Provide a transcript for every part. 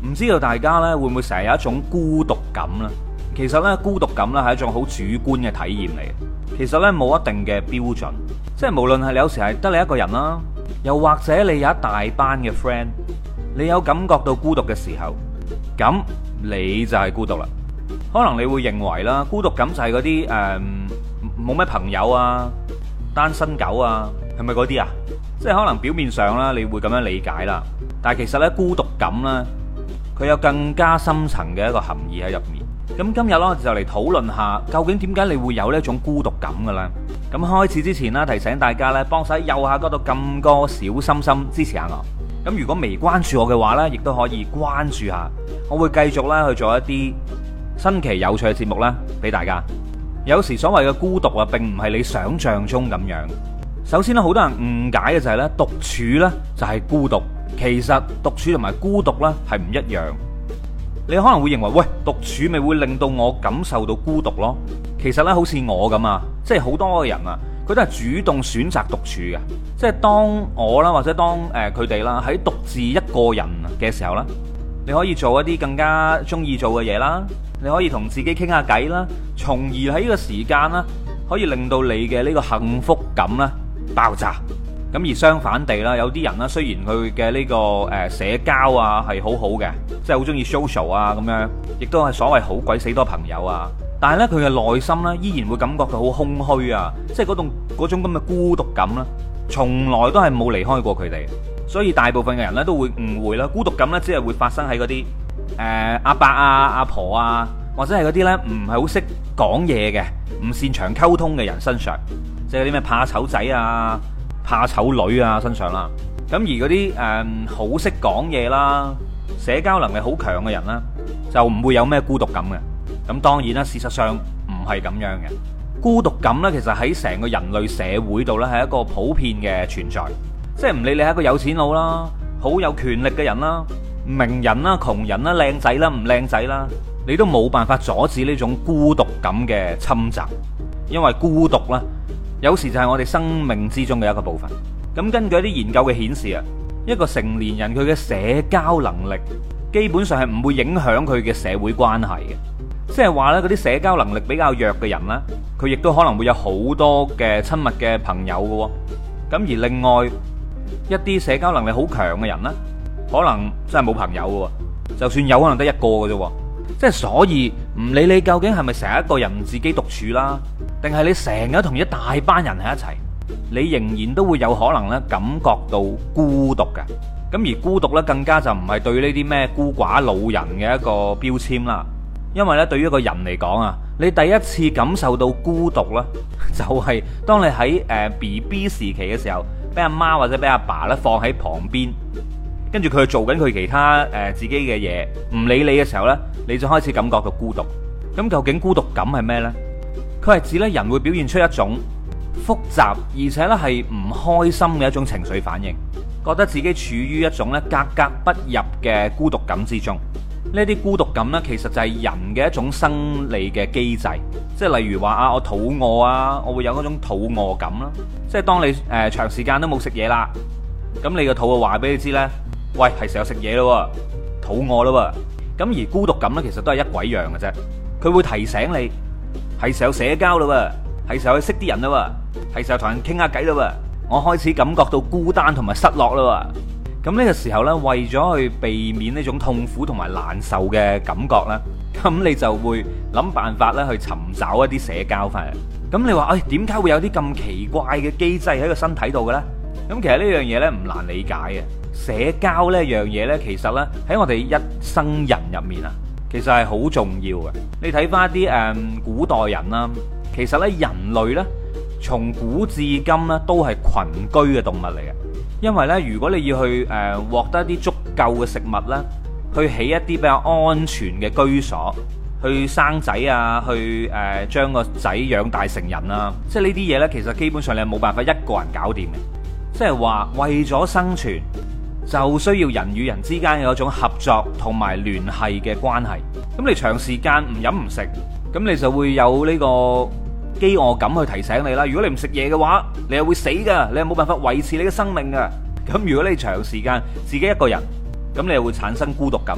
唔知道大家呢會唔會成日有一種孤獨感呢？其實呢，孤獨感呢係一種好主觀嘅體驗嚟嘅。其實呢，冇一定嘅標準，即係無論係你有時係得你一個人啦，又或者你有一大班嘅 friend，你有感覺到孤獨嘅時候，咁你就係孤獨啦。可能你會認為啦，孤獨感就係嗰啲冇咩朋友啊、單身狗啊，係咪嗰啲啊？即係可能表面上啦，你會咁樣理解啦。但係其實呢，孤獨感呢，佢有更加深層嘅一個含義喺入面。咁今日呢，就嚟討論下，究竟點解你會有呢一種孤獨感嘅咧？咁開始之前啦，提醒大家呢，幫手喺右下角度撳個小心心支持下我。咁如果未關注我嘅話呢，亦都可以關注下。我會繼續咧去做一啲新奇有趣嘅節目啦，俾大家。有時所謂嘅孤獨啊，並唔係你想象中咁樣。首先咧，好多人誤解嘅就係咧，獨處咧就係孤獨。其實獨處同埋孤獨咧係唔一樣。你可能會認為，喂，獨處咪會令到我感受到孤獨咯。其實咧，好似我咁啊，即係好多人啊，佢都係主動選擇獨處嘅。即係當我啦，或者當佢哋啦，喺獨自一個人嘅時候啦，你可以做一啲更加中意做嘅嘢啦，你可以同自己傾下偈啦，從而喺呢個時間啦，可以令到你嘅呢個幸福感啦爆炸。咁而相反地啦，有啲人啦，雖然佢嘅呢個社交啊係好好嘅，即係好中意 social 啊咁樣，亦都係所謂好鬼死多朋友啊，但係呢，佢嘅內心呢，依然會感覺到好空虛啊，即係嗰種咁嘅孤獨感啦，從來都係冇離開過佢哋。所以大部分嘅人呢，都會誤會啦，孤獨感呢，只係會發生喺嗰啲阿伯啊、阿婆啊，或者係嗰啲呢唔係好識講嘢嘅、唔擅長溝通嘅人身上，即係嗰啲咩怕醜仔啊、怕醜女啊身上啦。咁而嗰啲好識講嘢啦、社交能力好強嘅人啦，就唔會有咩孤獨感嘅。咁當然啦，事實上唔係咁樣嘅。孤獨感呢，其實喺成個人類社會度呢，係一個普遍嘅存在。即係唔理你係一個有錢佬啦、好有權力嘅人啦、名人啦、窮人啦、靚仔啦、唔靚仔啦，你都冇辦法阻止呢種孤獨感嘅侵襲。因為孤獨啦，有時就係我哋生命之中嘅一個部分。咁根據一啲研究嘅顯示啊，一個成年人佢嘅社交能力基本上係唔會影響佢嘅社會關係嘅。即係話呢，嗰啲社交能力比較弱嘅人呢，佢亦都可能會有好多嘅親密嘅朋友嘅。咁而另外一啲社交能力好強嘅人呢，可能真係冇朋友嘅，就算有可能得一個嘅啫。即係所以唔理你究竟係咪成日一個人自己獨處啦，定係你成日同一大班人喺一齊，你仍然都會有可能咧感覺到孤獨嘅。咁而孤獨咧更加就唔係對呢啲咩孤寡老人嘅一個標籤啦。因為咧對於一個人嚟講啊，你第一次感受到孤獨啦，就係當你喺BB 時期嘅時候，俾阿媽或者俾阿爸咧放喺旁邊，跟住佢做緊佢其他自己嘅嘢，唔理你嘅時候呢，你就開始感覺到孤獨。咁究竟孤獨感係咩呢？佢係指咧人會表現出一種複雜而且咧係唔開心嘅一種情緒反應，覺得自己處於一種咧格格不入嘅孤獨感之中。呢啲孤獨感呢，其實就係人嘅一種生理嘅機制，即係例如話啊，我肚餓啊，我會有嗰種肚餓感啦。即係當你長時間都冇食嘢啦，咁你個肚就話俾你知呢：「喂，係時候食嘢咯，肚餓咯。」咁而孤獨感呢，其實都係一鬼樣嘅啫，佢會提醒你係時候社交咯，係時候去識啲人咯，係時候同人傾下偈咯，我開始感覺到孤單同埋失落咯。咁呢個時候呢，為咗去避免呢種痛苦同埋難受嘅感覺呢，咁你就會諗辦法咧去尋找一啲社交翻嚟。咁你話，點解會有啲咁奇怪嘅機制喺個身體度嘅咧？咁其實呢樣嘢呢，唔難理解嘅。社交呢樣嘢呢，其實呢，喺我哋一生人入面啊，其實係好重要嘅。你睇翻一啲古代人啦，其實呢，人類呢，從古至今呢，都係群居嘅動物嚟嘅。因為咧，如果你要去獲得一啲足夠嘅食物咧，去起一啲比較安全嘅居所，去生仔啊，去將個仔養大成人啊，即係呢啲嘢呢，其實基本上你係冇辦法一個人搞掂嘅。即係話為咗生存，就需要人與人之間有一種合作同埋聯繫嘅關係。咁你長時間唔飲唔食，咁你就會有呢個飢餓感去提醒你啦。如果你唔食嘢嘅話，你係會死噶，你係冇辦法維持你嘅生命噶。咁如果你長時間自己一個人，咁你又會產生孤獨感啦。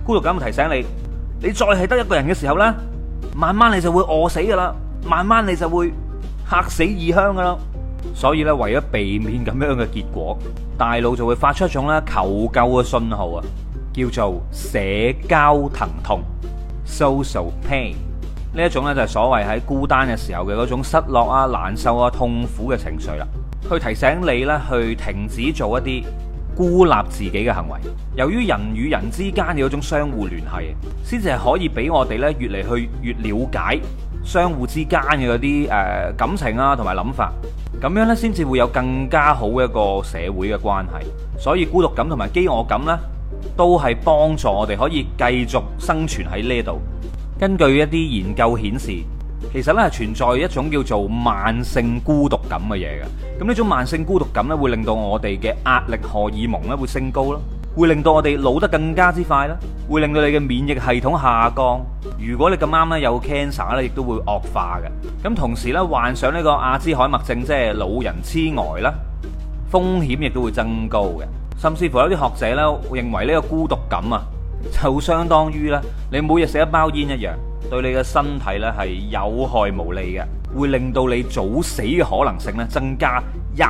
孤獨感會提醒你，你再係得一個人嘅時候呢，慢慢你就會餓死噶啦，慢慢你就會客死異鄉噶啦。所以咧，為咗避免咁樣嘅結果，大腦就會發出一種咧求救嘅信號啊，叫做社交疼痛 （social pain）。呢一種咧就係所謂喺孤單嘅時候嘅嗰種失落啊、難受啊、痛苦嘅情緒啦，去提醒你咧去停止做一啲孤立自己嘅行為。由於人與人之間嘅嗰種相互聯繫，先至係可以俾我哋咧越嚟去越了解相互之間嘅嗰啲感情啊同埋諗法。咁樣呢，先至會有更加好嘅一個社會嘅關係。所以孤獨感同埋飢餓感呢，都係幫助我哋可以繼續生存喺呢度。根據一啲研究顯示，其實呢係存在一種叫做慢性孤獨感嘅嘢嘅。咁呢種慢性孤獨感呢，會令到我哋嘅壓力荷爾蒙呢會升高啦，會令到我哋老得更加之快啦，會令到你嘅免疫系統下降。如果你咁啱呢有 cancer 呢，亦都會惡化嘅。咁同時呢，患上呢個阿茲海默症，即係老人痴呆啦，風險亦都會增高嘅。甚至乎有啲學者呢認為呢個孤獨感啊，就相當於呢你每日食一包煙一樣，對你嘅身體呢係有害無利嘅，會令到你早死嘅可能性呢增加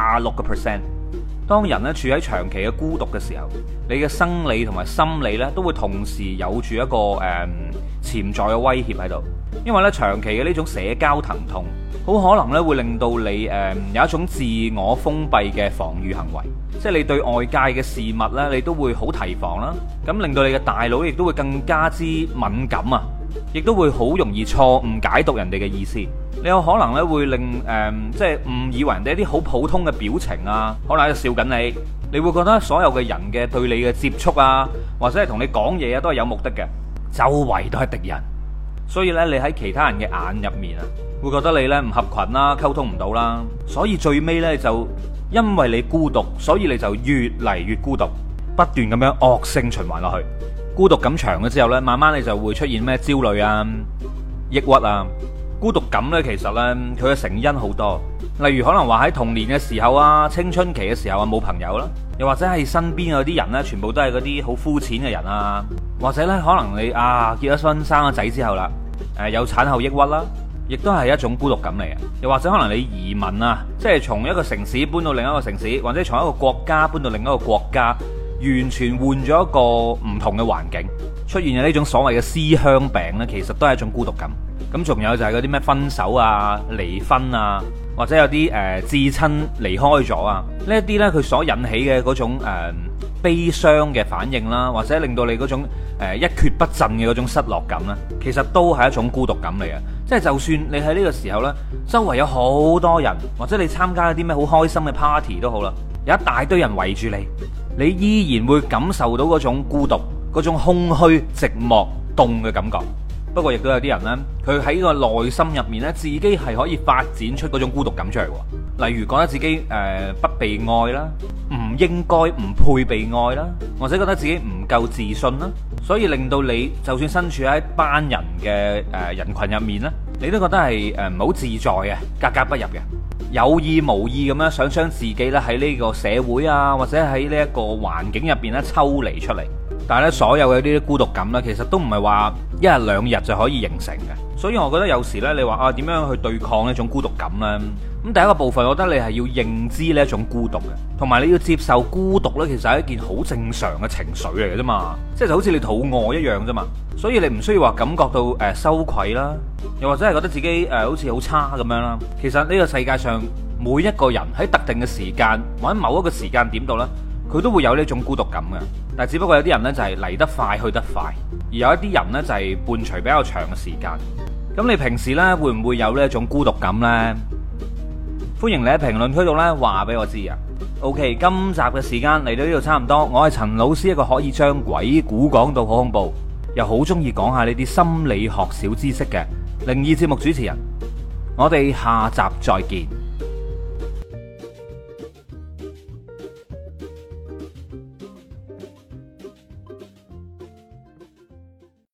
26%。當人咧處喺長期嘅孤獨嘅時候，你嘅生理同埋心理咧都會同時有住一個潛在嘅威脅喺度。因為咧長期嘅呢種社交疼痛，好可能咧會令到你有一種自我封閉嘅防禦行為，即係你對外界嘅事物咧，你都會好提防啦。咁令到你嘅大腦亦都會更加之敏感啊，亦都會好容易錯誤解讀人哋嘅意思。你有可能咧會令即係誤以為人哋一啲好普通嘅表情啊，可能喺度笑緊你，你會覺得所有嘅人嘅對你嘅接觸啊，或者係同你講嘢啊，都係有目的嘅，周圍都係敵人。所以咧，你喺其他人嘅眼入面啊，會覺得你咧唔合群啦，溝通唔到啦。所以最尾咧就因為你孤獨，所以你就越嚟越孤獨，不斷咁樣惡性循環落去。孤獨感長咗之後咧，慢慢你就會出現咩焦慮啊、抑鬱啊。孤獨感呢，其實呢，佢嘅成因好多，例如可能話喺童年嘅時候啊、青春期嘅時候啊冇朋友啦，又或者係身邊嗰啲人呢，全部都係嗰啲好膚淺嘅人啊，或者呢，可能你結咗婚生咗仔之後啦，有產後抑鬱啦，亦都係一種孤獨感嚟嘅。又或者可能你移民啊，即係從一個城市搬到另一個城市，或者從一個國家搬到另一個國家，完全換咗一個唔同嘅環境，出現嘅呢種所謂嘅思鄉病呢，其實都係一種孤獨感。咁仲有就係嗰啲咩分手啊、離婚啊，或者有啲至親離開咗啊，呢一啲呢，佢所引起嘅嗰種悲傷嘅反應啦，或者令到你嗰種一蹶不振嘅嗰種失落感啦，其實都係一種孤獨感嚟嘅。即係就算你喺呢個時候呢，周圍有好多人，或者你參加一啲咩好開心嘅 party 都好啦，有一大堆人圍住你，你依然會感受到嗰種孤獨、嗰種空虛、寂寞、凍嘅感覺。不過亦都有啲人呢，佢喺個內心入面呢，自己係可以發展出嗰種孤獨感出嚟喎。例如覺得自己不被愛啦，唔應該、唔配被愛啦，或者覺得自己唔夠自信啦，所以令到你就算身處喺一班人嘅人群入面呢，你都覺得係唔好自在嘅，格格不入嘅，有意無意咁樣想將自己呢喺呢個社會啊，或者喺呢一個環境入邊呢抽離出嚟。但係咧，所有嘅呢啲孤獨感呢，其實都唔係話一日兩日就可以形成嘅。所以我覺得有時呢，你話點樣去對抗呢種孤獨感呢？咁第一個部分，我覺得你係要認知呢一種孤獨嘅，同埋你要接受孤獨呢，其實係一件好正常嘅情緒嚟嘅啫嘛。即係就好似你肚餓一樣啫嘛。所以你唔需要話感覺到羞愧啦，又或者係覺得自己好似好差咁樣啦。其實呢個世界上每一個人喺特定嘅時間或者某一個時間點度呢，佢都會有呢種孤獨感嘅，但係只不過有啲人呢就係嚟得快去得快，而有一啲人呢就係伴隨比較長嘅時間。咁你平時呢會唔會有呢一種孤獨感呢？歡迎你喺評論區度呢話俾我知啊。OK， 今集嘅時間嚟到呢度差唔多，我係陳老師，一個可以將鬼故講到好恐怖，又好中意講下呢啲心理學小知識嘅靈異節目主持人。我哋下集再見。